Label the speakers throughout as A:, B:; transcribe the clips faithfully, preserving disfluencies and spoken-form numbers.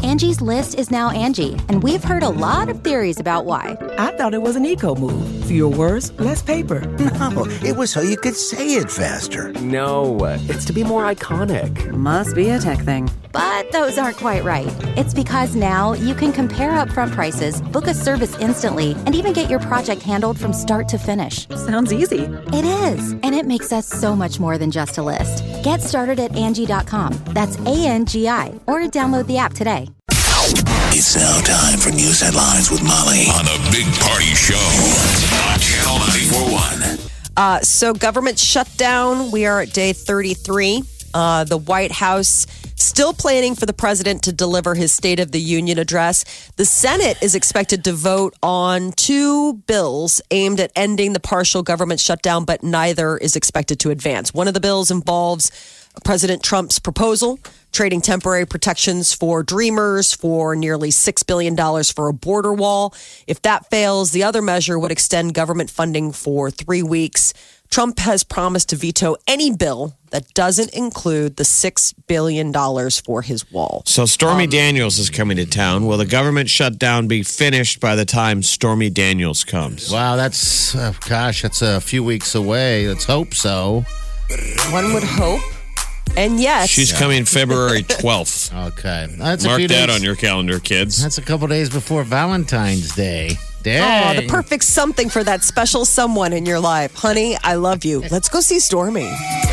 A: Angie's List is now Angie, and we've heard a lot of theories about why.
B: I thought it was an eco move. Fewer words, less paper.
C: No, it was so you could say it faster.
D: No, it's to be more iconic.
E: Must be a tech thing.
A: But those aren't quite right. It's because now you can compare upfront prices, book a service instantly, and even get your project handled from start to finish.
E: Sounds easy.
A: It is, and it makes us so much more than just a list. Get started at Angie dot com. That's A N G I, or download the app today.
C: It's now time for news headlines with Molly on the Big Party Show on Channel ninety-four point one.
F: Uh, so government shutdown. We are at day thirty-three. Uh, the White House still planning for the president to deliver his State of the Union address. The Senate is expected to vote on two bills aimed at ending the partial government shutdown, but neither is expected to advance. One of the bills involves President Trump's proposal, trading temporary protections for Dreamers for nearly six billion dollars for a border wall. If that fails, the other measure would extend government funding for three weeks. Trump has promised to veto any bill that doesn't include the six billion dollars for his wall.
G: So Stormy
F: Um,
G: Daniels is coming to town. Will the government shutdown be finished by the time Stormy Daniels comes?
H: Wow, that's, uh, gosh, that's a few weeks away. Let's hope so.
F: One would hope. And yes.
G: She's coming February twelfth.
H: Okay. That's a
G: Mark
H: few
G: that
H: days.
G: on your calendar, kids.
H: That's a couple days before Valentine's Day. Dang.
F: Oh, the perfect something for that special someone in your life. Honey, I love you. Let's go see Stormy.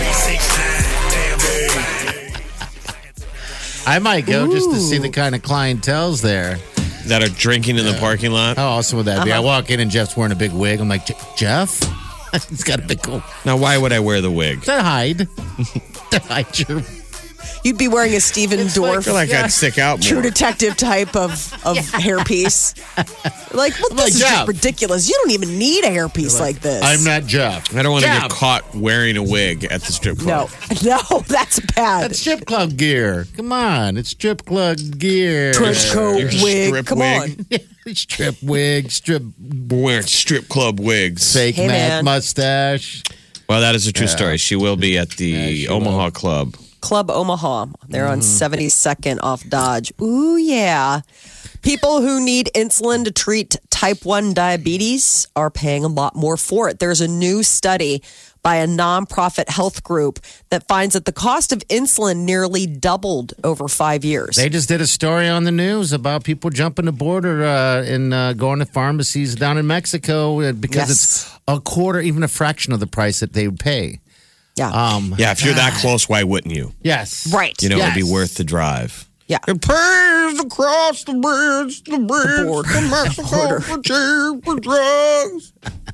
H: I might go just to see the kind of clientele's there.
G: That are drinking in the parking lot.
H: How awesome would that be?
F: Uh-huh.
H: I walk in and Jeff's wearing a big wig. I'm like, "Je- Jeff? He's got a big cool.
G: Now, why would I wear the wig?
H: To hide. to hide your...
F: You'd be wearing a Steven
G: I
F: Dorff
G: feel like I'd stick out more.
F: True Detective type of, of hairpiece. Like, well, this
H: like,
F: is
H: Jeff.
F: just ridiculous. You don't even need a hairpiece like, this.
H: I'm not Jeff.
G: I don't want to
H: Jeff.
G: get caught wearing a wig at the strip club.
F: No, no, that's bad.
H: That's strip club gear. Come on. It's strip club gear.
F: Trench coat,
G: Your
F: wig.
G: strip
F: Come
G: wig.
F: on.
H: strip wig, strip
G: We're wearing strip club wigs.
H: fake
F: Hey,
H: ma-
F: man.
H: mustache.
G: Well, that is a true story. She will be at the
H: Yeah, she
G: Omaha
H: will.
G: Club.
F: Club Omaha. They're
H: Mm-hmm.
F: on seventy-second off Dodge. Ooh, yeah. People who need insulin to treat type one diabetes are paying a lot more for it. There's a new study by a nonprofit health group that finds that the cost of insulin nearly doubled over five years.
H: They just did a story on the news about people jumping the border uh, and uh, going to pharmacies down in Mexico uh, because
F: Yes.
H: it's a quarter, even a fraction of the price that they would pay.
F: yeah.
H: Um,
G: Yeah, if you're that close, why wouldn't you?
H: yes.
F: right.
G: You know,
H: Yes.
G: it'd be worth the drive.
F: Yeah.
G: It pays to cross the bridge, the bridge
F: border.
G: to Mexico for cheaper drugs.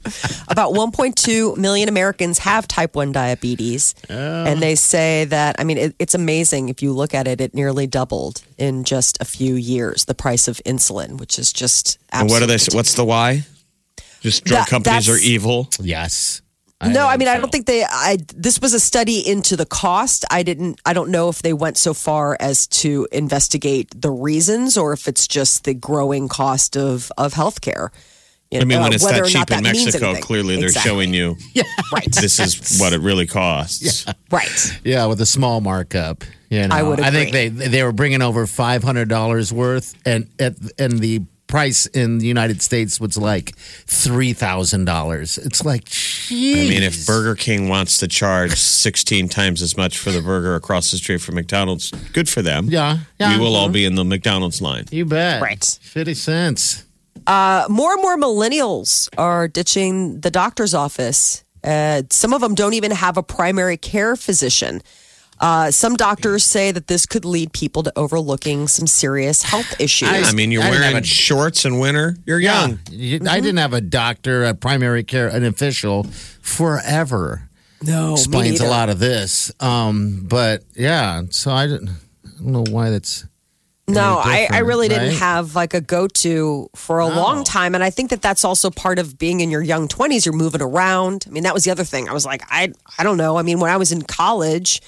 F: About one point two million Americans have type one diabetes. And they say that, I mean, it, it's amazing. If you look at it, it nearly doubled in just a few years, the price of insulin, which is just
G: And what are they?
F: absolutely-
G: What's the why? Just drug
F: That-
G: companies are
F: that's-
G: evil.
H: Yes.
F: No, I
H: think
F: mean, I
H: so.
F: don't think they. I this was a study into the cost. I didn't. I don't know if they went so far as to investigate the reasons, or if it's just the growing cost of of healthcare. You
G: I mean,
F: know,
G: when it's
F: whether
G: that
F: or not
G: cheap in
F: that means
G: Mexico,
F: anything.
G: clearly they're
F: Exactly.
G: showing you
F: right,
G: this is what it really costs.
F: right.
H: Yeah, with a small markup. You know,
F: I would
H: I think they
F: agree.
H: they were bringing over five hundred dollars worth, and at and the price in the United States was like three thousand dollars. It's like, geez.
G: I mean, if Burger King wants to charge sixteen times as much for the burger across the street from McDonald's, good for them.
H: Yeah, yeah.
G: We will all be in the McDonald's line.
H: You bet.
F: Right.
H: fifty cents.
F: Uh, more and more millennials are ditching the doctor's office. Uh, some of them don't even have a primary care physician. Uh, some doctors say that this could lead people to overlooking some serious health issues.
G: I mean, you're
H: I didn't
G: wearing
H: have a-
G: shorts in winter. You're young.
H: You- I didn't have a doctor, a primary care, an official forever.
F: no, me
H: Explains a
F: neither.
H: lot of this. Um, but yeah, so I didn't, I don't know why that's.
F: No,
H: any
F: I, I
H: different,
F: really didn't
H: right?
F: have like a go-to for a long time. And I think that that's also part of being in your young twenties. You're moving around. I mean, that was the other thing. I was like, I, I don't know. I mean, when I was in college,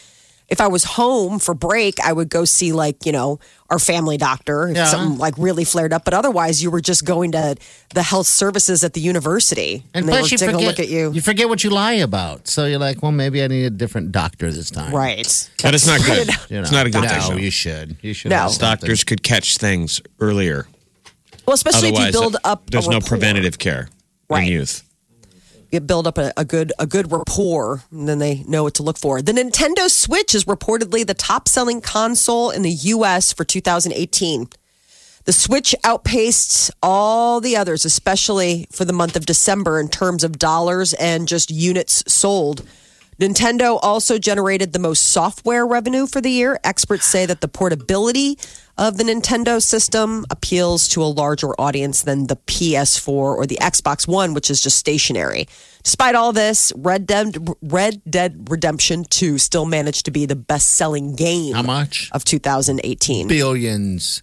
F: if I was home for break, I would go see like, you know, our family doctor if
H: Yeah.
F: something like really flared up. But otherwise, you were just going to the health services at the university.
H: And
F: they
H: plus,
F: were
H: you
F: taking
H: forget,
F: a look at you.
H: you forget what you lie about. So you're like, well, maybe I need a different doctor this time.
F: Right.
G: But it's not good.
H: You know,
G: It's not a good
H: no,
G: thing.
H: you should. You should.
F: No.
H: have something.
G: Doctors could catch things earlier.
F: Well, especially
G: Otherwise,
F: if you build up
G: there's
F: a
G: no
F: rapport.
G: preventative care
F: Right.
G: in youth.
F: You build up a, a good a good rapport, and then they know what to look for. The Nintendo Switch is reportedly the top selling console in the U S for two thousand eighteen. The Switch outpaced all the others, especially for the month of December in terms of dollars and just units sold. Nintendo also generated the most software revenue for the year. Experts say that the portability of the Nintendo system appeals to a larger audience than the P S four or the Xbox One, which is just stationary. Despite all this, Red Dead, Red Dead Redemption two still managed to be the best-selling game
H: How much?
F: of two thousand eighteen.
H: Billions.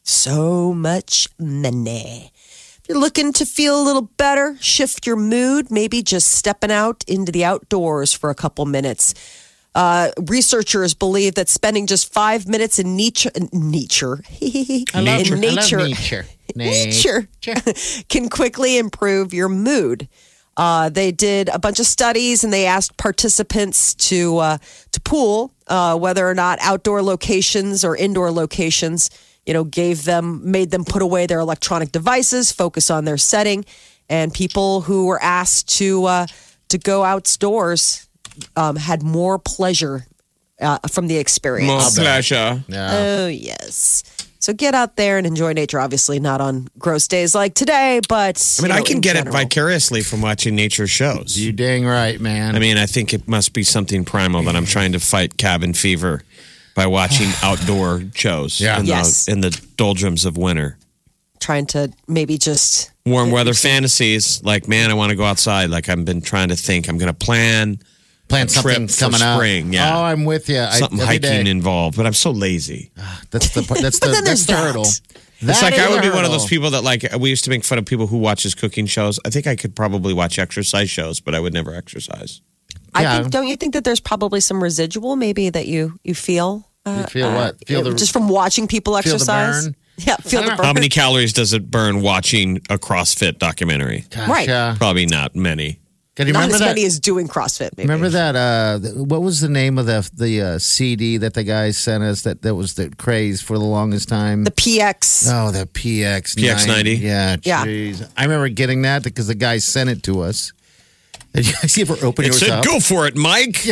F: So much money. If you're looking to feel a little better, shift your mood, maybe just stepping out into the outdoors for a couple minutes. Uh, researchers believe that spending just five minutes in nature, nature,
H: I love,
F: in
H: I love
F: nature,
H: nature.
F: nature can quickly improve your mood. Uh, they did a bunch of studies and they asked participants to uh, to pool uh, whether or not outdoor locations or indoor locations, you know, gave them made them put away their electronic devices, focus on their setting, and people who were asked to uh, to go outdoors um, had more pleasure uh, from the experience.
G: More pleasure.
H: Yeah.
F: Oh, yes. So get out there and enjoy nature. Obviously, not on gross days like today, but
G: I mean,
F: you know,
G: I can
F: in
G: get
F: general.
G: it vicariously from watching nature shows.
H: You dang right, man.
G: I mean, I think it must be something primal that I'm trying to fight cabin fever by watching outdoor shows
H: Yeah.
G: in,
F: Yes.
G: the, in the doldrums of winter.
F: Trying to maybe just
G: Warm weather fantasies, like, man, I want to go outside. Like, I've been trying to think. I'm going to plan
H: plan
G: a
H: something
G: trip for
H: coming up.
G: spring, yeah.
H: Oh, I'm with you.
G: something
H: I, every
G: hiking
H: day.
G: involved, but I'm so lazy.
H: That's the part- that's the
F: then
H: that's
F: there's
H: the
F: that.
H: hurdle.
G: It's
H: That
G: like
H: is
G: I would
H: a
G: be one of
H: hurdle.
G: those people that like we used to make fun of people who watches cooking shows. I think I could probably watch exercise shows, but I would never exercise.
F: I
H: Yeah.
F: think, don't you think that there's probably some residual maybe that you you feel? Uh,
H: You feel what?
F: uh,
H: Feel the-
F: just from watching people
H: feel the
F: exercise.
H: burn?
F: Yeah, feel
H: I
F: the
H: don't
F: burn.
G: How many calories does it burn watching a CrossFit documentary?
H: Gosh,
F: Right.
H: yeah.
G: Probably not many.
H: Can you
F: Not
H: remember
F: as
H: that?
F: many as doing CrossFit. Maybe.
H: Remember that? Uh, th- what was the name of the the uh, C D that the guy sent us? That that was the craze for the longest time.
F: the P X?
H: oh, the P X
G: P X ninety?
H: Yeah,
F: Yeah.
H: jeez. I remember getting that because the guy sent it to us. Did you guys ever open
G: It
H: yours
G: said,
H: up?
G: "Go for it, Mike.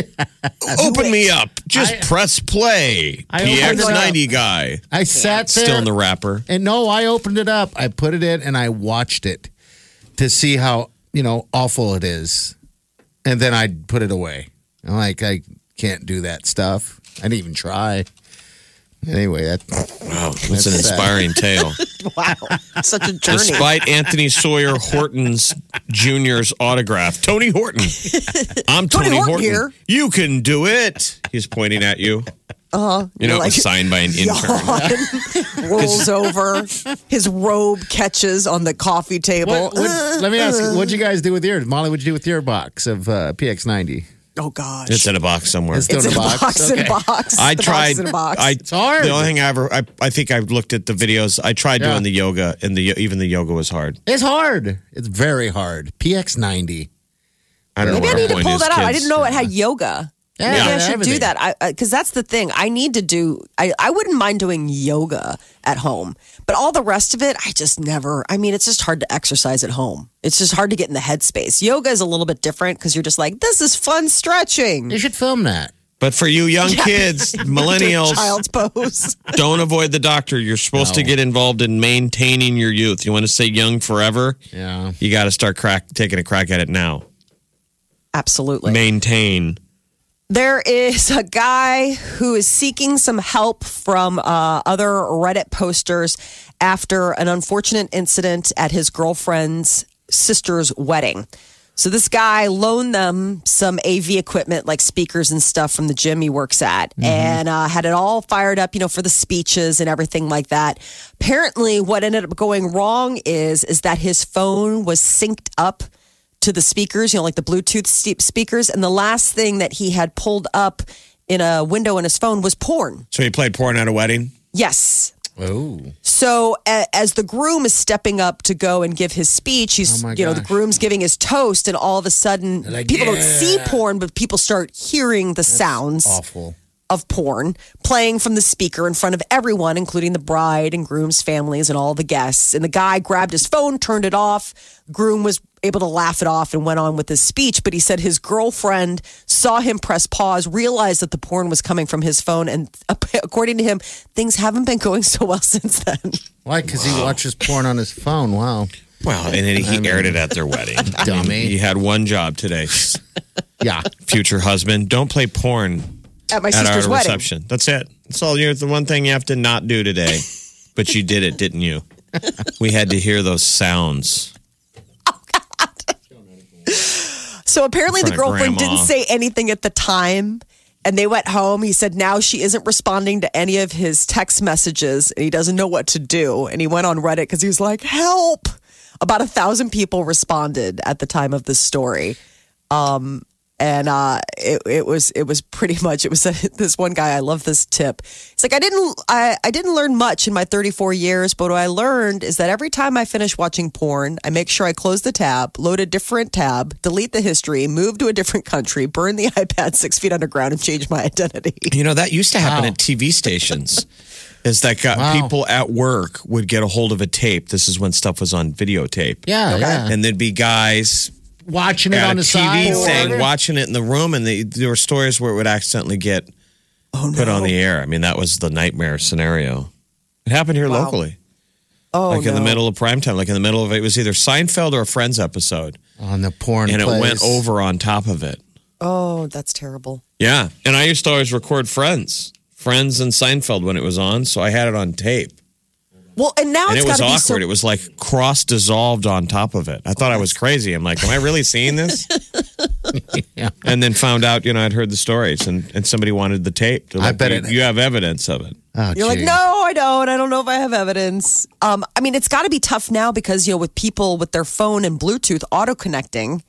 G: Open me up. Just
H: I-
G: press play."
H: I
G: P X
H: opened it up.
G: ninety guy.
H: I sat there.
G: Still in the wrapper.
H: And no, I opened it up. I put it in and I watched it to see how, you know, awful it is. And then I put it away. I'm like, I can't do that stuff. I didn't even try. Anyway, that,
G: Wow, that's an
H: That's sad.
G: inspiring tale.
F: Wow, such a journey.
G: Despite Anthony Sawyer Horton's Junior's autograph, Tony Horton. I'm Tony,
F: Tony Horton
G: Horton.
F: here.
G: You can do it. He's pointing at you.
F: Uh-huh.
G: You know,
F: You're
G: it was
F: like,
G: signed by an intern.
F: rolls over. His robe catches on the coffee table.
H: what, what, let me ask you, what'd you guys do with yours? Molly, what'd you do with your box of uh, P X ninety?
F: Oh gosh,
G: It's in a box somewhere.
H: It's still
F: It's
H: in
F: in
H: a
F: a
H: box.
F: box. In a
H: Okay.
F: box.
G: I
F: The box
G: tried.
F: is in a box.
G: I,
H: It's hard.
G: The only thing I ever, I, I think I've looked at the videos. I tried
H: Yeah.
G: doing the yoga, and the even the yoga was hard.
H: It's hard. It's very hard. P X ninety.
G: I don't
F: Maybe
G: know
F: I
G: what
F: need
G: our
F: to
G: point
F: pull
G: is,
F: that out. I
G: kids.
F: didn't know it had yoga.
H: Yeah,
F: Maybe I
H: yeah,
F: should
H: everything.
F: do that. I because that's the thing. I need to do. I I wouldn't mind doing yoga at home, but all the rest of it, I just never. I mean, it's just hard to exercise at home. It's just hard to get in the headspace. Yoga is a little bit different because you're just like, this is fun stretching.
H: You should film that.
G: But for you young kids, millennials,
F: Child's pose.
G: don't avoid the doctor. You're supposed to
H: No.
G: get involved in maintaining your youth. You want to stay young forever?
H: Yeah.
G: You got to start crack taking a crack at it now.
F: Absolutely.
G: Maintain.
F: There is a guy who is seeking some help from uh, other Reddit posters after an unfortunate incident at his girlfriend's sister's wedding. So this guy loaned them some A V equipment like speakers and stuff from the gym he works at and uh, had it all fired up, you know, for the speeches and everything like that. Apparently what ended up going wrong is, is that his phone was synced up to the speakers, you know, like the Bluetooth ste- speakers. And the last thing that he had pulled up in a window in his phone was porn.
G: So he played porn at a wedding?
F: Yes.
H: Oh.
F: So a, as the groom is stepping up to go and give his speech, he's
H: Oh my
F: you know the
H: gosh.
F: groom's giving his toast, and all of a sudden
H: Like,
F: people don't
H: yeah.
F: see porn, but people start hearing the sounds
H: Awful.
F: of porn playing from the speaker in front of everyone, including the bride and groom's families and all the guests. And the guy grabbed his phone, turned it off. Groom was able to laugh it off and went on with his speech. But he said his girlfriend saw him press pause, realized that the porn was coming from his phone. And according to him, things haven't been going so well since then.
H: Why? Because he watches porn on his phone. Wow.
G: Well, and then he aired it at their wedding.
H: Dummy.
G: He had one job today.
H: Yeah.
G: Future husband, don't play porn
F: At my
G: at
F: sister's
G: our
F: wedding.
G: reception. That's it. That's all. You're the one thing you have to not do today. But you did it, didn't you? We had to hear those sounds.
F: So apparently
G: In
F: the
G: front of
F: girlfriend
G: grandma.
F: didn't say anything at the time. And they went home. He said now she isn't responding to any of his text messages and he doesn't know what to do. And he went on Reddit because he was like, help. About a thousand people responded at the time of this story. Um, and uh, it, it was it was pretty much it was a, this one guy. I love this tip. It's like I didn't I, I didn't learn much in my thirty-four years, but what I learned is that every time I finish watching porn, I make sure I close the tab, load a different tab, delete the history, move to a different country, burn the iPad six feet underground, and change my identity.
G: You know, that used to happen
H: Wow.
G: at T V stations. Is that got
H: Wow.
G: people at work would get a hold of a tape. This is when stuff was on videotape.
H: Yeah, yeah.
G: And there'd be guys
H: Watching it
G: at
H: on
G: a
H: the
G: T V
H: side.
G: thing, watching it in the room, and they, there were stories where it would accidentally get put on the air. I mean, that was the nightmare scenario. It happened here
F: Wow.
G: locally,
F: Oh,
G: like in the
F: no.
G: middle of prime time, like in the middle of it was either Seinfeld or a Friends episode,
H: On the porn
G: and it
H: plays.
G: went over on top of it.
F: Oh, that's terrible.
G: Yeah, and I used to always record Friends, Friends and Seinfeld when it was on, so I had it on tape.
F: Well, and now
G: And
F: it's
G: it was
F: got to be
G: awkward.
F: so.
G: It was like cross dissolved on top of it. I thought I was crazy. I'm like, am I really seeing this?
H: Yeah.
G: And then found out, you know, I'd heard the stories and, and somebody wanted the tape. They're
H: I
G: like,
H: bet
G: you,
H: it-
G: you have evidence of it.
H: Oh,
F: You're like,
H: geez.
F: no, I don't. I don't know if I have evidence. Um, I mean, it's got to be tough now because, you know, with people with their phone and Bluetooth auto connecting,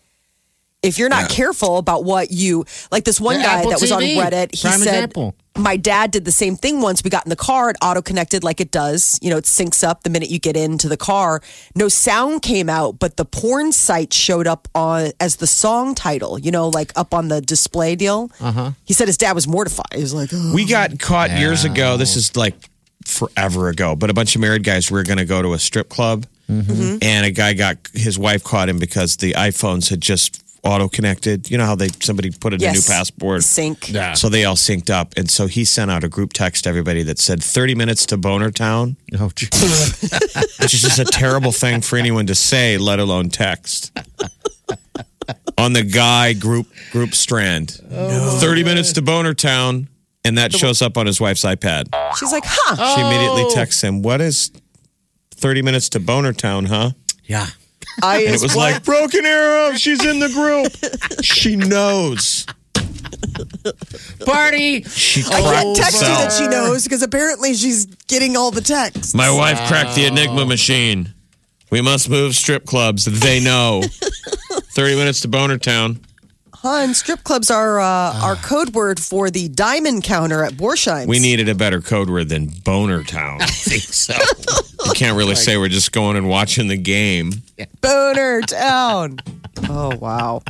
F: if you're not careful about what you, like this one
H: The
F: guy
H: Apple
F: that was on
H: T V,
F: Reddit, he
H: prime
F: said,
H: example.
F: my dad did the same thing once. We got in the car, it auto connected like it does. You know, it syncs up the minute you get into the car. No sound came out, but the porn site showed up on as the song title, you know, like up on the display deal. Uh-huh. He said his dad was mortified. He was like, oh.
G: We got caught years ago. This is like forever ago, but a bunch of married guys were going to go to a strip club.
F: Mm-hmm.
G: And a guy got, his wife caught him because the iPhones had just auto connected. You know how they somebody put in
F: Yes.
G: a new passport?
F: Sync.
H: Yeah.
G: So they all synced up. And so he sent out a group text to everybody that said thirty minutes to Boner Town,
H: Oh, geez.
G: which is just a terrible thing for anyone to say, let alone text. On the guy group group strand. thirty minutes to Boner Town. And that shows up on his wife's iPad.
F: She's like, huh.
G: She immediately texts him, what is thirty minutes to Boner Town, huh?
H: Yeah.
F: I
G: And it was like, broken arrow, she's in the group. She knows.
H: Party.
G: She
F: I can't
G: cracked
F: text you
G: herself.
F: that she knows because apparently she's getting all the texts.
G: My wife cracked the Enigma machine. We must move strip clubs. They know. thirty minutes to Boner Town.
F: Hun, strip clubs are uh, our code word for the diamond counter at Borsheim's.
G: We needed a better code word than Boner Town.
H: I think so.
G: You can't really say we're just going and watching the game.
F: Boner Town. Oh, wow.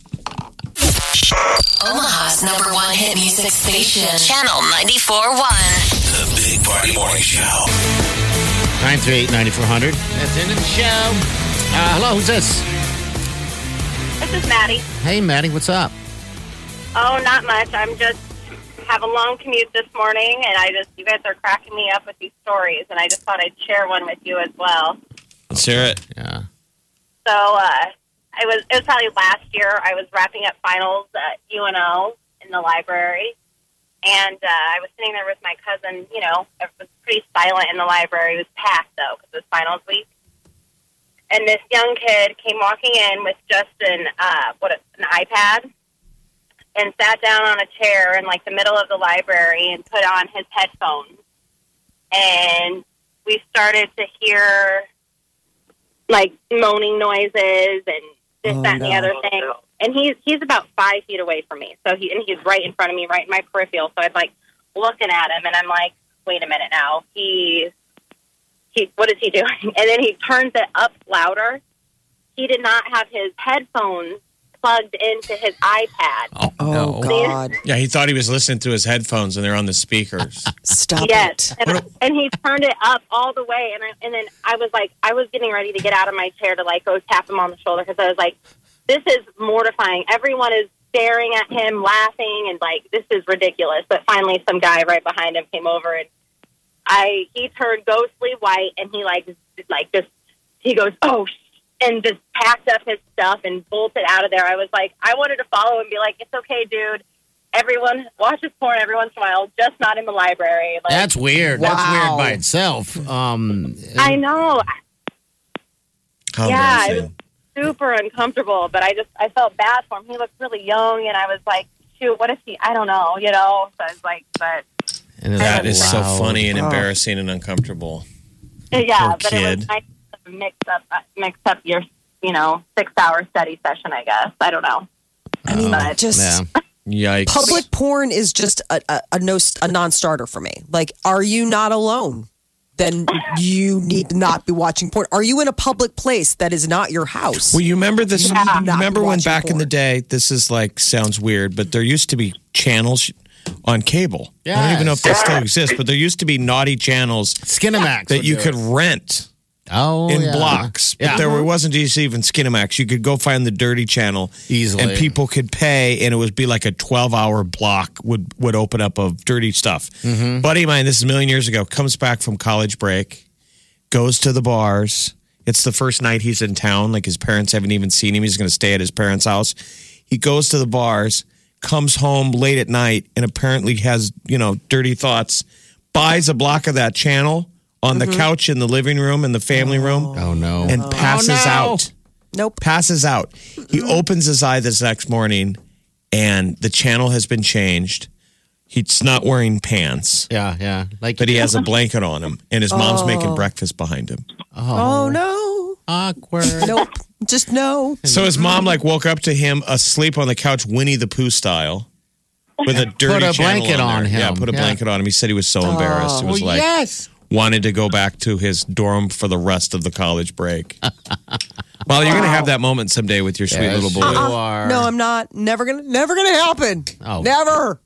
E: Omaha's number one hit music station, Channel ninety-four point one.
C: The Big Party Morning Show.
H: nine three eight, nine four hundred. That's the end of the show. Uh, hello, who's this?
I: This is Maddie.
H: Hey, Maddie, what's up?
I: Oh, not much. I'm just have a long commute this morning, and I just you guys are cracking me up with these stories, and I just thought I'd share one with you as well.
G: Let's hear it.
H: Yeah.
I: So, uh, I was it was probably last year. I was wrapping up finals at U N O in the library, and uh, I was sitting there with my cousin. You know, it was pretty silent in the library. It was packed though because it was finals week. And this young kid came walking in with just an uh, what an iPad, and sat down on a chair in like the middle of the library and put on his headphones. And we started to hear like moaning noises and this,
F: Oh,
I: that, and the
F: no.
I: other thing. and he's he's about five feet away from me. So he and he's right in front of me, right in my peripheral. So I'm like looking at him, and I'm like, wait a minute now. He he, what is he doing? And then he turns it up louder. He did not have his headphones plugged into his iPad.
H: Oh,
F: Oh,
H: no.
F: God.
G: Yeah, he thought he was listening through his headphones and they're on the speakers.
F: Stop
I: Yes,
F: it.
I: and, and he turned it up all the way, and I, and then I was like, I was getting ready to get out of my chair to like go tap him on the shoulder because I was like, this is mortifying. Everyone is staring at him, laughing, and like this is ridiculous. But finally, some guy right behind him came over, and I he turned ghostly white, and he like like just he goes, oh. And just packed up his stuff and bolted out of there. I was like, I wanted to follow and be like, it's okay, dude. Everyone watches porn every once in a while, just not in the library. Like,
H: That's weird. That's
F: Wow.
H: weird by itself. Um,
I: I know.
G: How
I: Yeah, it
G: embarrassing.
I: was super uncomfortable, but I just, I felt bad for him. He looked really young, and I was like, shoot, what if he, I don't know, you know? So I was like, but,
H: and it's
G: That is so
H: loud.
G: funny and
F: Oh.
G: embarrassing and uncomfortable.
I: yeah,
G: Poor
I: but it
G: kid.
I: was nice to mix up, uh, mix up your, you know, six-hour study session, I guess. I don't know.
F: I mean,
I: But-
F: just
H: Yeah.
G: Yikes.
F: public porn is just a, a, a no a non-starter for me. Like, are you not alone? Then you need to not be watching porn. Are you in a public place that is not your house?
G: Well, you remember this?
F: Yeah.
G: You remember
F: Not
G: when
F: watching
G: back in the
F: porn.
G: day, this is like, sounds weird, but there used to be channels on cable. I don't even know if they still exist, but there used to be naughty channels
H: Skinamax
G: that
H: would
G: you
H: do
G: could
H: it.
G: rent
H: oh,
G: in
H: yeah.
G: blocks. But
H: Yeah.
G: there were- wasn't just even Skinamax. You could go find the dirty channel
H: Easily.
G: and people could pay, and it would be like a twelve-hour block would would open up of dirty stuff.
H: Mm-hmm.
G: Buddy of mine, this is a million years ago, comes back from college break, goes to the bars. It's the first night he's in town. Like his parents haven't even seen him. He's going to stay at his parents' house. He goes to the bars, comes home late at night, and apparently has, you know, dirty thoughts. Buys a block of that channel on the couch in the living room in the family room
H: Oh, no.
G: and passes
H: Oh, no.
G: out.
F: Nope.
G: Passes out. He opens his eye this next morning, and the channel has been changed. He's not wearing pants,
H: yeah, yeah. Like,
G: but he has a blanket on him, and his mom's making breakfast behind him.
F: Oh, no.
H: awkward.
F: Nope. Just no.
G: So his mom like woke up to him asleep on the couch, Winnie the Pooh style, with a dirty
H: Put a
G: channel
H: blanket on
G: there. Yeah,
H: him.
G: put a
H: Yeah.
G: blanket on him. He said he was so embarrassed. It was
H: Oh,
G: like
H: yes.
G: wanted to go back to his dorm for the rest of the college break. Well, you're going to have that moment someday with your sweet
H: Yes,
G: little boy.
H: you are.
F: No, I'm not. Never gonna. Never gonna happen.
H: Oh.
F: Never.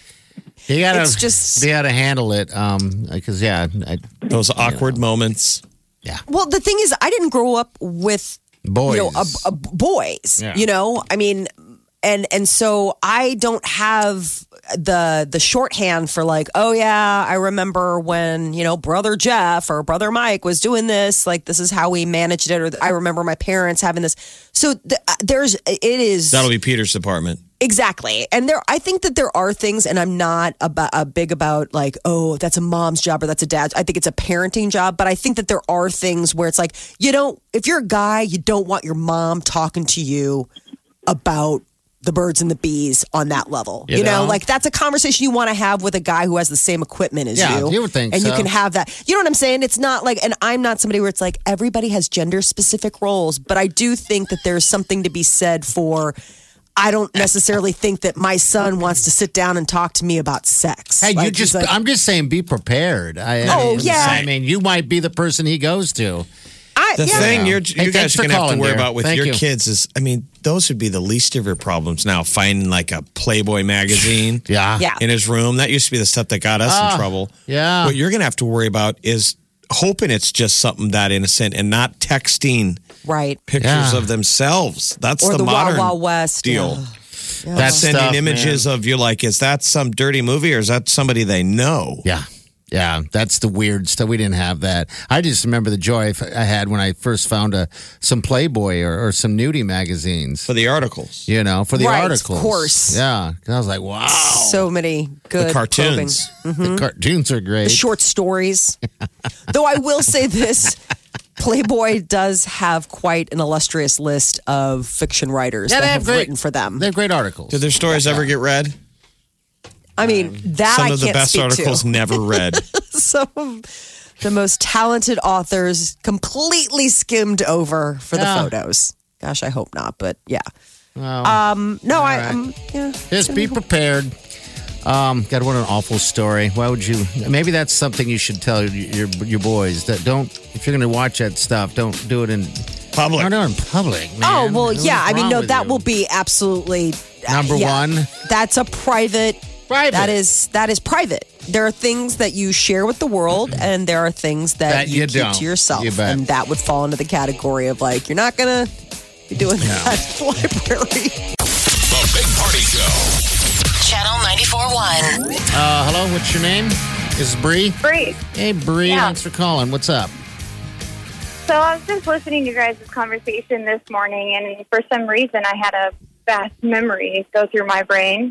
H: You gotta,
F: It's just-
H: you gotta handle it. Um, because yeah, I,
G: Those awkward moments.
H: yeah,
F: Well, the thing is, I didn't grow up with
H: boys.
F: you know, a, a boys.
H: Yeah.
F: You know, I mean, and and so I don't have the the shorthand for like, oh yeah, I remember when you know brother Jeff or brother Mike was doing this. Like this is how we managed it. Or I remember my parents having this. So th- there's it is
G: That'll be Peter's department.
F: Exactly. And there, I think that there are things, and I'm not about, uh, big about like, oh, that's a mom's job or that's a dad's. I think it's a parenting job. But I think that there are things where it's like, you don't, if you're a guy, you don't want your mom talking to you about the birds and the bees on that level. You,
H: You
F: know?
H: know?
F: like that's a conversation you want to have with a guy who has the same equipment as
H: Yeah,
F: you.
H: you would think
F: And you
H: so.
F: can have that. You know what I'm saying? It's not like, and I'm not somebody where it's like everybody has gender specific roles, but I do think that there's something to be said for. I don't necessarily think that my son wants to sit down and talk to me about sex.
H: Hey, you
F: Like,
H: just,
F: he's like,
H: I'm just saying, be prepared. I, I
F: Oh,
H: mean,
F: yeah.
H: I mean, you might be the person he goes to.
F: I,
G: The
F: yeah.
G: thing you're,
H: Hey,
G: you guys
H: thanks
G: are
H: for
G: going to have to
H: calling,
G: worry
H: dear.
G: about with
H: Thank
G: your
H: you.
G: kids is, I mean, those would be the least of your problems now. Finding like a Playboy magazine
H: Yeah.
F: Yeah.
G: in his room. That used to be the stuff that got us in trouble.
H: yeah.
G: What you're going to have to worry about is hoping it's just something that innocent and not texting
F: Right.
G: pictures
H: Yeah.
G: of themselves. That's
F: Or
G: the,
F: the Wild
G: modern
F: Wild West.
G: deal.
F: Yeah.
H: That
G: Sending
H: stuff,
G: images
H: man.
G: of you like, is that some dirty movie or is that somebody they know?
H: Yeah. Yeah, that's the weird stuff. We didn't have that. I just remember the joy I had when I first found a, some Playboy or, or some nudie magazines,
G: For the articles.
H: you know, for the
F: Right, of
H: articles.
F: course.
H: Yeah. 'Cause I was like, wow.
F: So many good
G: The cartoons.
H: The cartoons are great.
F: The short stories. Though I will say this. Playboy does have quite an illustrious list of fiction writers
H: Yeah,
F: that
H: they
F: have
H: have great-
F: written for them.
H: They have great articles.
G: Did their stories ever get read?
F: I mean, that
G: Some
F: I
G: of the
F: can't
G: best
F: speak
G: articles
F: to.
G: never read.
F: Some of the most talented authors completely skimmed over for
H: Yeah.
F: the photos. Gosh, I hope not, but yeah.
H: Well,
F: Um, no, I,
H: right.
F: um, yeah.
H: just be prepared. Um, God, what an awful story. Why would you? Maybe that's something you should tell your your boys that don't. If you're going to watch that stuff, don't do it in
G: Public.
H: Don't do it in public. Man.
F: Oh well,
H: What's
F: yeah. I mean,
H: wrong
F: no,
H: with
F: that
H: you?
F: will be absolutely uh,
H: Number
F: yeah.
H: one.
F: That's a private.
H: Private.
F: That is that is private. There are things that you share with the world, and there are things that,
H: That
F: you,
H: you
F: keep
H: don't.
F: to yourself,
H: You bet.
F: and that would fall into the category of like you're not gonna be doing that at the library.
C: The Big Party Show.
E: Channel ninety-four point one.
H: Uh, hello, what's your name? Is Bree?
I: Bree.
H: Hey, Bree.
I: Yeah.
H: Thanks for calling. What's up?
I: So I was just listening to you guys' conversation this morning, and for some reason I had a vast memory go through my brain.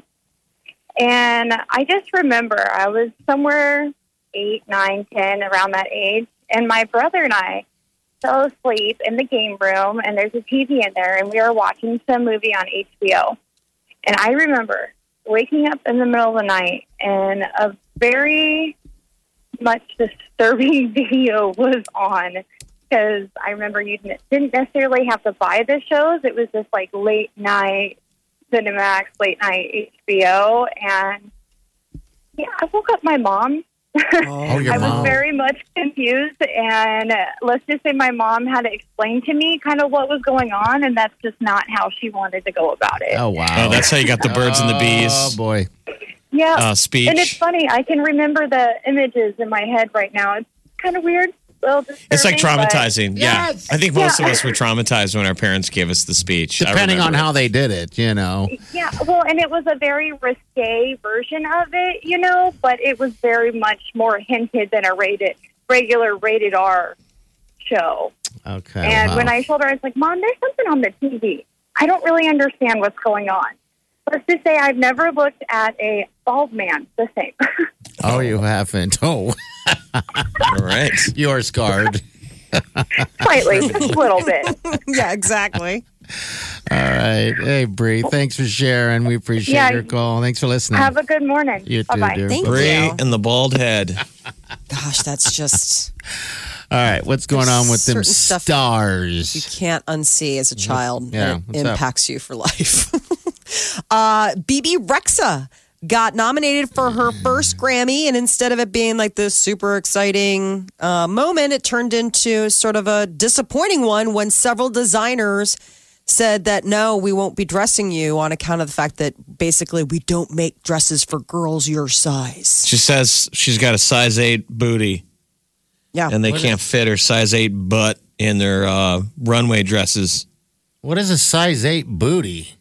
I: And I just remember I was somewhere eight, nine, ten, around that age, and my brother and I fell asleep in the game room, and there's a T V in there, and we were watching some movie on H B O. And I remember waking up in the middle of the night, and a very much disturbing video was on, because I remember you didn't necessarily have to buy the shows. It was just like late night Cinemax, late night H B O. And yeah, I woke up my mom.
H: Oh, your
I: I
H: mom.
I: was very much confused. And uh, let's just say my mom had to explain to me kind of what was going on. And that's just not how she wanted to go about it.
H: Oh, wow.
G: Oh, that's how you got the birds and the bees
H: Oh, boy.
I: Yeah.
G: uh, speech.
I: And it's funny. I can remember the images in my head right now. It's kind of weird. a little
G: It's like
I: disturbing, but-
G: traumatizing.
H: Yes.
G: Yeah. I think most
I: Yeah.
G: of us were traumatized when our parents gave us the speech. I
H: Depending on
G: remember.
H: how they did it, you know.
I: Yeah, well, and it was a very risque version of it, you know, but it was very much more hinted than a rated, regular rated R show.
H: Okay.
I: And
H: wow.
I: when I told her, I was like, Mom, there's something on the T V. I don't really understand what's going on. Let's just say I've never looked at a bald man the same.
H: Oh, you haven't. Oh,
G: All right.
H: you're scarred.
I: Slightly, just a little bit.
F: Yeah, exactly.
H: All right. Hey, Bree, thanks for sharing. We appreciate
I: Yeah.
H: your call. Thanks for listening.
I: Have a good morning.
H: You too,
I: Bye-bye.
H: dear.
F: Thank
G: Bree
F: you.
G: and the bald head.
F: Gosh, that's just
H: All right. What's going on with them
F: Certain stuff you
H: stars?
F: can't unsee as a child.
H: Yeah,
F: and
H: what's
F: it
H: up?
F: impacts you for life. uh, B B Rexa got nominated for her first Grammy, and instead of it being like this super exciting uh, moment, it turned into sort of a disappointing one when several designers said that no, we won't be dressing you on account of the fact that basically we don't make dresses for girls your size.
G: She says she's got a size eight booty
F: Yeah.
G: and they can't fit her size eight butt in their uh, runway dresses.
H: What is a size eight booty?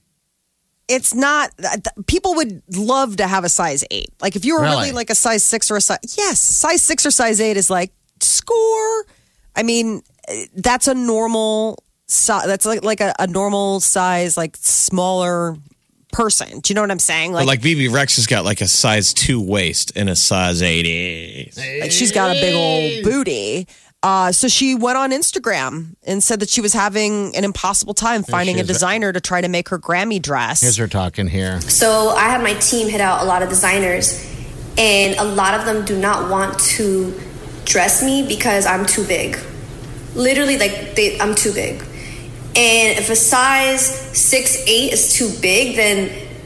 F: It's not, people would love to have a size eight. Like if you were really,
H: Really?
F: like a size six or a size, yes, size six or size eight is like score. I mean, that's a normal size. That's like, like a, a normal size, like smaller person. Do you know what I'm saying?
G: But like B B Rex has got like a size two waist and a size eight.
F: Like she's got a big old booty. Uh, so she went on Instagram and said that she was having an impossible time finding a
H: is.
F: designer to try to make her Grammy dress.
H: Here's her talking here.
J: So I had my team hit out a lot of designers, and a lot of them do not want to dress me because I'm too big. Literally, like they, I'm too big. And if a size six eight is too big, then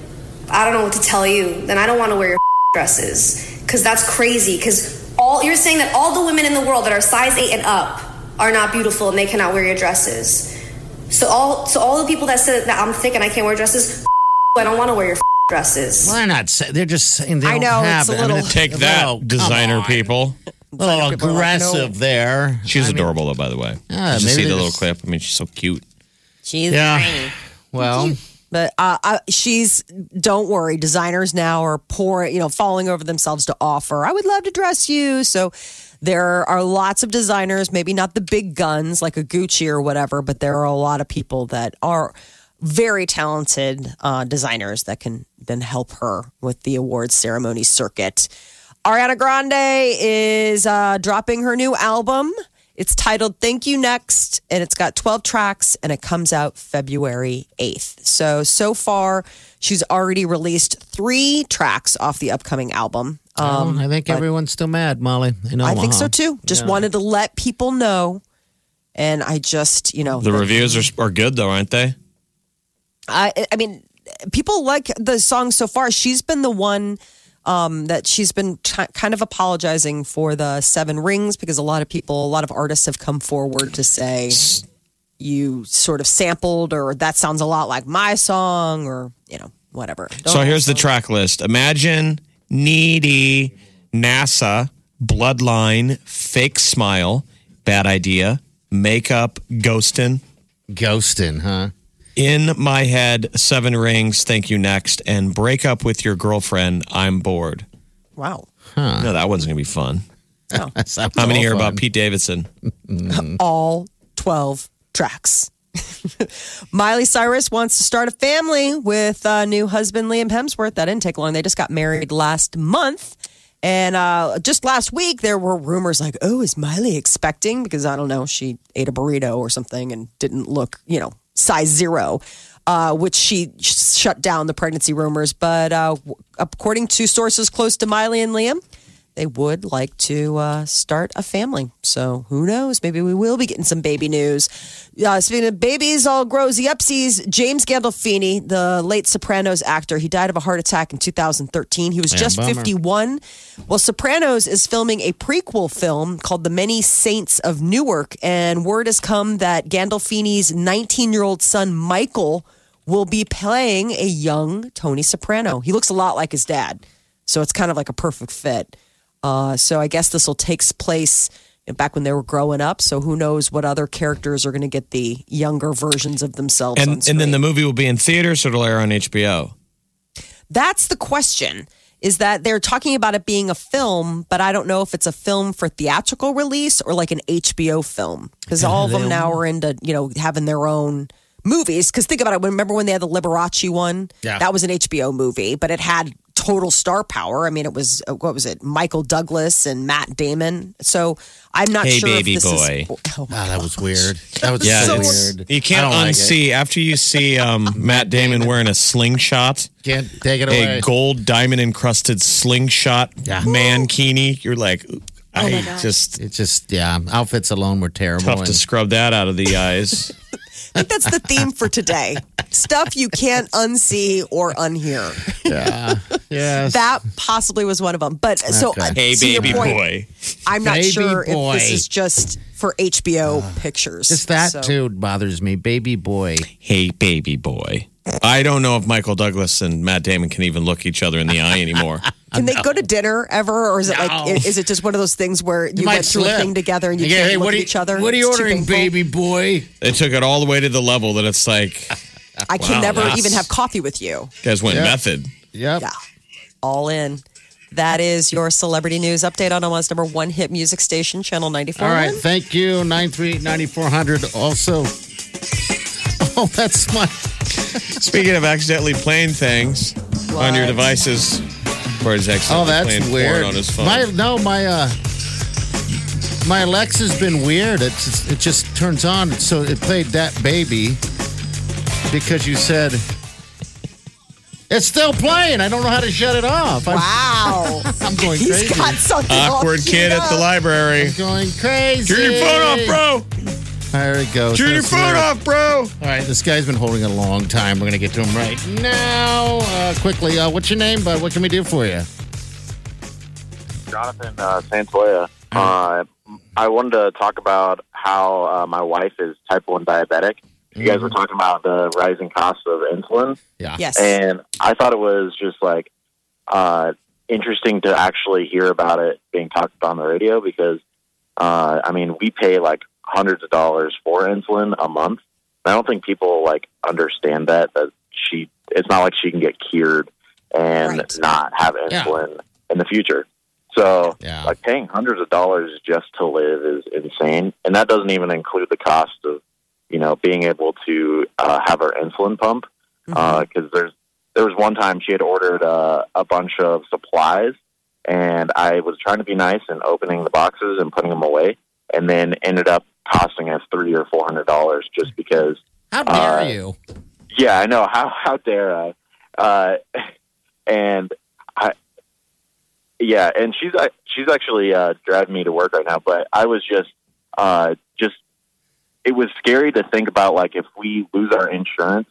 J: I don't know what to tell you. Then I don't want to wear your dresses because that's crazy. Because all you're saying that all the women in the world that are size eight and up are not beautiful and they cannot wear your dresses. So all so all the people that said that I'm thick and I can't wear dresses, I don't want to wear your dresses.
H: Well, they're not. Say, they're just saying they
F: I
H: don't
F: know,
H: have
F: it's a
H: it. I mean,
F: little-
H: it's
G: Take
H: a
G: that,
H: little- come
G: designer
H: on.
G: people.
H: A little
F: people are like,
H: aggressive
F: no.
H: there.
G: She's
H: I mean,
G: adorable, though, by the way.
H: Yeah,
G: Did you
H: maybe
G: see
H: they
G: the little
H: just-
G: clip? I mean, she's so cute.
F: She's
H: Yeah.
F: tiny.
H: Well,
F: But uh, uh, she's, don't worry, designers now are pouring, you know, falling over themselves to offer, I would love to dress you. So there are lots of designers, maybe not the big guns like a Gucci or whatever, but there are a lot of people that are very talented uh, designers that can then help her with the awards ceremony circuit. Ariana Grande is uh, dropping her new album. It's titled Thank You Next, and it's got twelve tracks, and it comes out February eighth. So, so far, she's already released three tracks off the upcoming album. Um,
H: I think
F: but
H: everyone's still mad, Molly. In
F: I think
H: Omaha.
F: so, too. Just
H: Yeah.
F: wanted to let people know. And I just, you know.
G: The reviews are, are good, though, aren't they?
F: I, I mean, people like the song so far. She's been the one um, that she's been t- kind of apologizing for the Seven Rings because a lot of people, a lot of artists have come forward to say you sort of sampled or that sounds a lot like my song or, you know, whatever. Don't
G: so here's the track list. Imagine, Needy, NASA, Bloodline, Fake Smile, Bad Idea, Makeup, Ghostin'.
H: Ghostin', huh?
G: In My Head, Seven Rings, Thank You Next, and Break Up with Your Girlfriend, I'm Bored.
F: Wow.
G: Huh. No, that one's going to be fun.
F: Oh.
G: How many are about Pete Davidson?
F: All twelve tracks. Miley Cyrus wants to start a family with uh, new husband Liam Hemsworth. That didn't take long. They just got married last month. And uh, just last week, there were rumors like, oh, is Miley expecting? Because I don't know, she ate a burrito or something and didn't look, you know, size zero, uh, which she sh- shut down the pregnancy rumors. But uh, w- according to sources close to Miley and Liam, they would like to uh, start a family. So who knows? Maybe we will be getting some baby news. Uh, speaking of babies, all growsy upsies, James Gandolfini, the late Sopranos actor, he died of a heart attack in two thousand thirteen. He was
H: Yeah,
F: just
H: bummer.
F: fifty-one. Well, Sopranos is filming a prequel film called The Many Saints of Newark. And word has come that Gandolfini's nineteen-year-old son, Michael, will be playing a young Tony Soprano. He looks a lot like his dad. So it's kind of like a perfect fit. Uh, so I guess this will take place back when they were growing up. So who knows what other characters are going to get the younger versions of themselves on
G: And,
F: screen.
G: and then the movie will be in theaters or it'll air on H B O?
F: That's the question, is that they're talking about it being a film, but I don't know if it's a film for theatrical release or like an H B O film. Because all of them now are into, you know, having their own movies. Because think about it. Remember when they had the Liberace one?
H: Yeah.
F: That was an H B O movie, but it had total star power. I mean, it was, uh, what was it? Michael Douglas and Matt Damon. So I'm not
G: Hey,
F: sure
G: baby
F: if this
G: boy.
F: is... Oh,
H: Wow, that was weird. That was
G: Yeah,
H: so
G: it's-
H: weird.
G: You
H: I
G: can't
H: don't like
G: unsee, after you see um, Matt Damon wearing a slingshot,
H: Can't take it away.
G: a gold diamond encrusted slingshot
H: Yeah.
G: mankini, you're like,
F: Oh
G: I just,
H: It's just, yeah, outfits alone were terrible.
G: tough
H: and-
G: to scrub that out of the eyes.
F: I think that's the theme for today. Stuff you can't unsee or unhear.
H: yeah. Yes.
F: That possibly was one of them. But so,
H: Okay.
F: uh,
G: Hey,
F: to your
G: baby
F: point,
G: boy.
F: I'm not
H: Baby
F: sure
H: boy.
F: if this is just for H B O pictures.
H: Just that,
F: So-
H: too, bothers me. Baby boy.
G: Hey, baby boy. I don't know if Michael Douglas and Matt Damon can even look each other in the eye anymore.
F: Can they go to dinner ever, or is it like
H: No.
F: i- is it just one of those things where you,
H: might
F: went through
H: slip.
F: a thing together and you
H: Yeah,
F: can't
H: hey,
F: look
H: what
F: at
H: are you-
F: each other?
H: What are you
F: It's too
H: ordering,
F: painful?
H: baby boy?
G: They took it all the way to the level that it's like,
F: I can
G: Wow,
F: never
G: that's-
F: even have coffee with you.
G: you guys went
H: Yeah.
G: method.
H: Yep.
F: Yeah, all in. That is your celebrity news update on Omaha's number one hit music station, Channel ninety-four.
H: All right. Thank you. nine three eight, nine four hundred. Also, oh, that's my.
G: Speaking of accidentally playing things on your
F: What?
G: devices, or is
H: Oh,
G: accidentally
H: that's
G: playing
H: weird.
G: porn on his phone.
H: My no, my uh, my Alexa's been weird. It just, it just turns on. So it played that baby because you said it's still playing. I don't know how to shut it off. I'm,
F: Wow,
H: I'm going
F: he's
H: crazy.
F: got something all
G: Awkward
F: queued
G: kid at the
F: up.
G: library.
H: I'm going crazy.
G: Turn your phone off, bro.
H: There it goes.
G: Turn your
H: That's
G: phone
H: weird.
G: off, bro.
H: All right, this guy's been holding it a long time. We're going to get to him right now. Uh, quickly, uh, what's your name, bud? What can we do for you?
K: Jonathan uh, Santoya. Uh, I wanted to talk about how uh, my wife is type one diabetic. You guys were talking about the rising cost of insulin.
H: Yeah.
F: Yes.
K: And I thought it was just like uh, interesting to actually hear about it being talked about on the radio because, uh, I mean, we pay like hundreds of dollars for insulin a month. I don't think people like understand that, that she, it's not like she can get cured and
F: Right.
K: not have
H: Yeah.
K: insulin in the future. So
H: Yeah.
K: like paying hundreds of dollars just to live is insane. And that doesn't even include the cost of, you know, being able to uh, have her insulin pump. Because there's there was one time she had ordered uh, a bunch of supplies, and I was trying to be nice and opening the boxes and putting them away, and then ended up costing us three or four hundred dollars just because.
H: How dare
K: Uh,
H: you?
K: Yeah, I know. How how dare I? Uh, and I, yeah, and she's uh, she's actually uh, driving me to work right now. But I was just uh, just it was scary to think about like if we lose our insurance,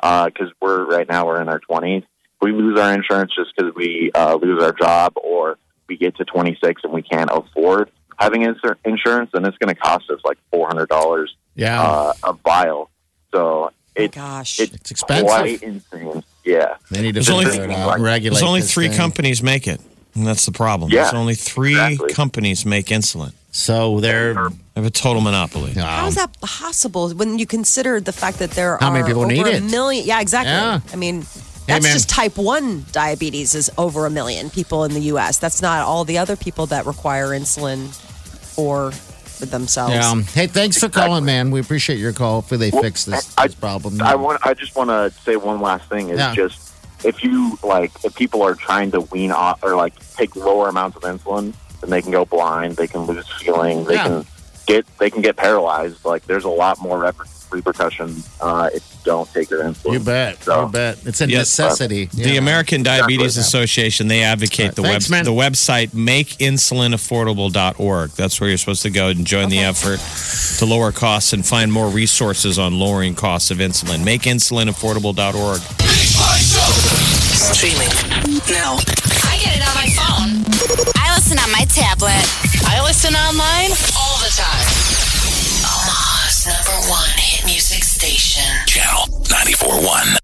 K: because we're right now we're in our twenties. We lose our insurance just because we uh, lose our job, or we get to twenty-six and we can't afford having insur- insurance, then it's going to cost us like four hundred dollars
H: Yeah.
K: uh, a vial. So it's,
F: gosh.
K: it's,
H: It's expensive.
K: quite insane. Yeah.
H: They need to
G: There's only-
H: figure it out, regulate
G: There's only
H: this
G: three
H: thing.
G: companies make it. And that's the problem.
K: Yeah,
G: There's only three
K: exactly.
G: companies make insulin.
H: So they're
G: They have a total monopoly.
F: How is that possible when you consider the fact that there
H: How
F: are
H: many people
F: over
H: need
F: a
H: it?
F: million? Yeah, exactly.
H: Yeah.
F: I mean,
H: Hey,
F: that's
H: man.
F: just type one diabetes is over a million people in the U S. That's not all the other people that require insulin for, for themselves.
H: Yeah. Hey, thanks for calling, man. We appreciate your call. Hopefully they
K: Well,
H: fix this,
K: I-
H: this problem.
K: I want. I just want to say one last thing. Is
H: Yeah.
K: just if you like, if people are trying to wean off or like take lower amounts of insulin, then they can go blind. They can lose feeling. They
H: Yeah.
K: can get. They can get paralyzed. Like there's a lot more reper- repercussions uh, if you don't take your insulin.
H: You bet.
K: So-
H: You bet. It's a
G: Yes.
H: necessity.
G: The
H: Yeah.
G: American Diabetes
K: Exactly.
G: Association, they advocate the
H: Thanks,
G: web
H: man.
G: the website make insulin affordable dot org. That's where you're supposed to go and join the effort to lower costs and find more resources on lowering costs of insulin. make insulin affordable dot org.
E: Streaming now. I get it on my phone. I listen on my tablet. I listen online all the time. Omaha's number one hit music station.
C: Channel ninety-four point one.